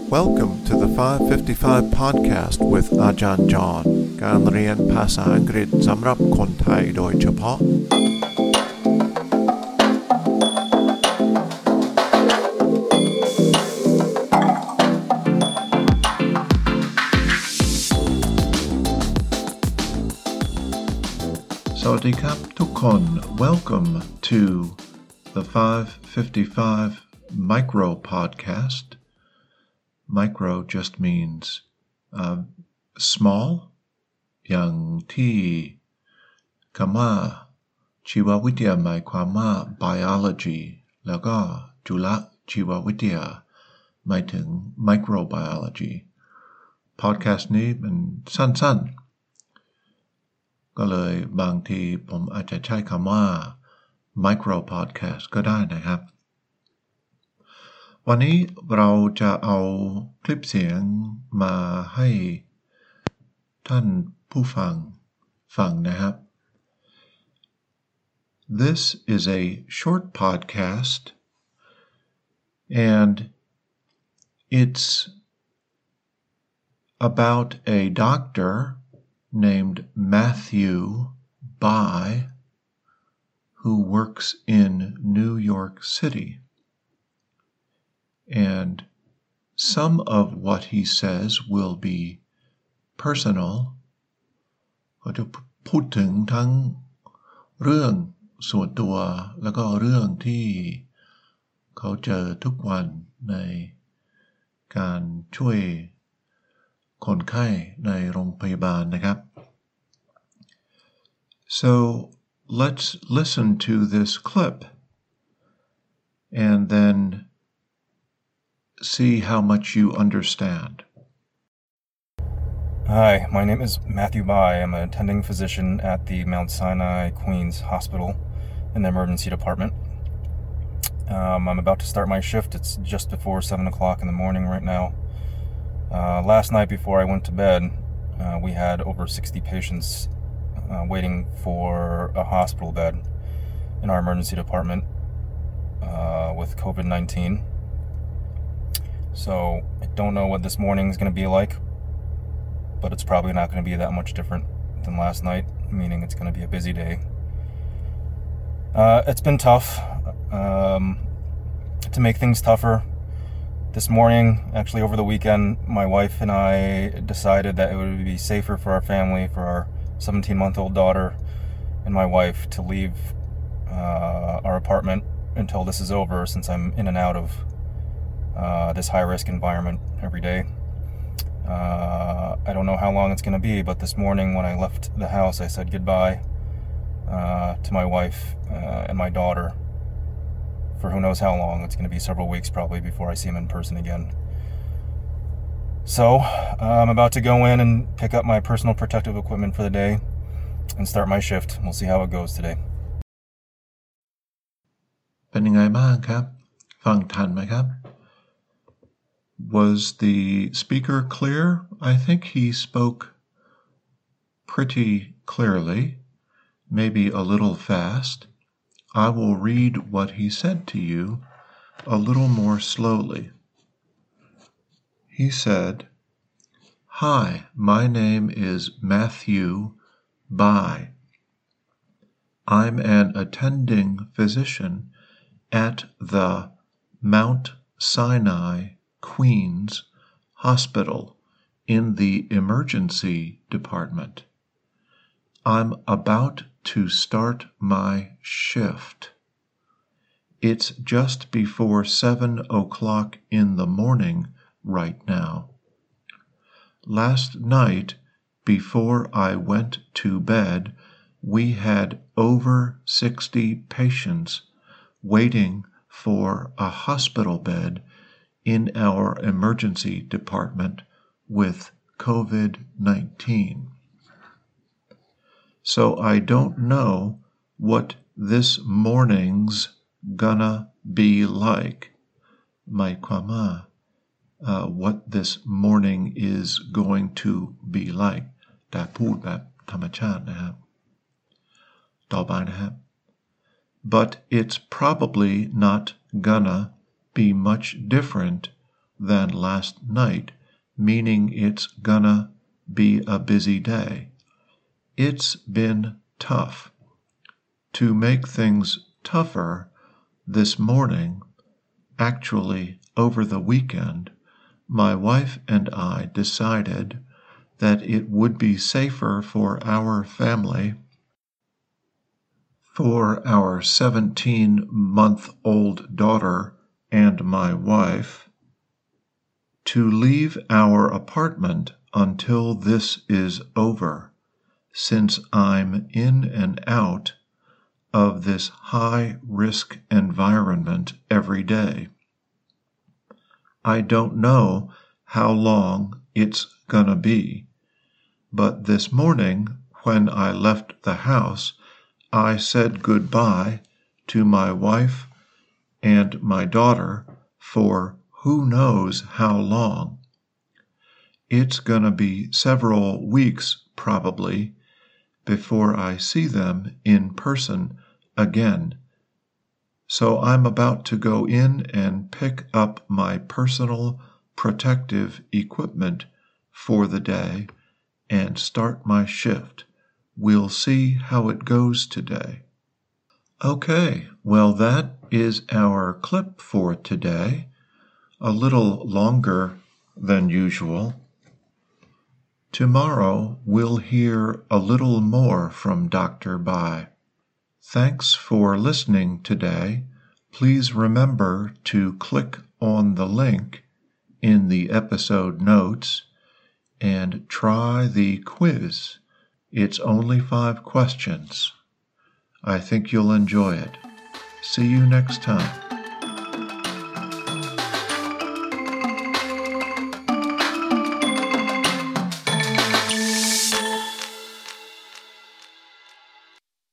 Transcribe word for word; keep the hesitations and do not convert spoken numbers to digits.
Welcome to the five fifty-five podcast with อาจารย์จอห์นการเรียนภาษาอังกฤษสำหรับคนไทยโดยเฉพาะสวัสดีครับทุกคน Welcome to the five fifty-five micro podcast.Micro just means uh, small อย่างที่คำว่าชีววิทยาหมายความว่า biology แล้วก็จุลชีววิทยาหมายถึง microbiology podcast นี้มันสั้นๆก็เลยบางทีผมอาจจะใช้คำว่า micro podcast ก็ได้นะครับวันนี้เราจะเอาคลิปเสียงมาให้ท่านผู้ฟังฟังนะครับ This is a short podcast and it's about a doctor named Matthew Bai who works in New York City.And some of what he says will be personal เขาจะพูดถึงทั้งเรื่องส่วนตัวแล้วก็เรื่องที่เขาเจอทุกวันในการช่วยคนไข้ในโรงพยาบาลนะครับ So let's listen to this clip and then.See how much you understand. Hi, my name is Matthew Bai. I'm an attending physician at the Mount Sinai Queens Hospital in the emergency department. Um, I'm about to start my shift. It's just before seven o'clock in the morning right now. Uh, last night before I went to bed, uh, we had over sixty patients uh, waiting for a hospital bed in our emergency department uh, with covid nineteen.So I don't know what this morning is going to be like, but it's probably not going to be that much different than last night, meaning it's going to be a busy day. Uh, it's been tough um, to make things tougher. This morning, actually over the weekend, my wife and I decided that it would be safer for our family, for our seventeen-month-old daughter and my wife to leave uh, our apartment until this is over, since I'm in and out of Uh, this high-risk environment every day. Uh, I don't know how long it's going to be, but this morning when I left the house, I said goodbye uh, to my wife uh, and my daughter for who knows how long. It's going to be several weeks probably before I see them in person again. So uh, I'm about to go in and pick up my personal protective equipment for the day and start my shift. We'll see how it goes today. เป็นยังไงบ้างครับฟังทันไหมครับWas the speaker clear? I think he spoke pretty clearly, maybe a little fast. I will read what he said to you a little more slowly. He said, Hi, my name is Matthew Bai. I'm an attending physician at the Mount Sinai,Queens Hospital in the emergency department. I'm about to start my shift. It's just before seven o'clock in the morning right now. Last night, before I went to bed, we had over sixty patients waiting for a hospital bed.in our emergency department with covid nineteen. So I don't know what this morning's gonna be like. หมายความว่า uh, what this morning is going to be like. แต่พูดแบบธรรมชาตินะครับต่อไปนะครับ But it's probably not gonna be much different than last night, meaning it's gonna be a busy day. It's been tough. To make things tougher, this morning, actually over the weekend, my wife and I decided that it would be safer for our family, for our seventeen-month-old daughter and my wife, to leave our apartment until this is over, since I'm in and out of this high-risk environment every day. I don't know how long it's gonna be, but this morning when I left the house, I said goodbye to my wife and my daughter for who knows how long. It's gonna be several weeks probably before I see them in person again. So I'm about to go in and pick up my personal protective equipment for the day and start my shift. We'll see how it goes today. Okay, well, that is our clip for today. A little longer than usual. Tomorrow we'll hear a little more from Doctor Bai. Thanks for listening today. Please remember to click on the link in the episode notes and try the quiz. It's only five questions. I think you'll enjoy it. See you next time.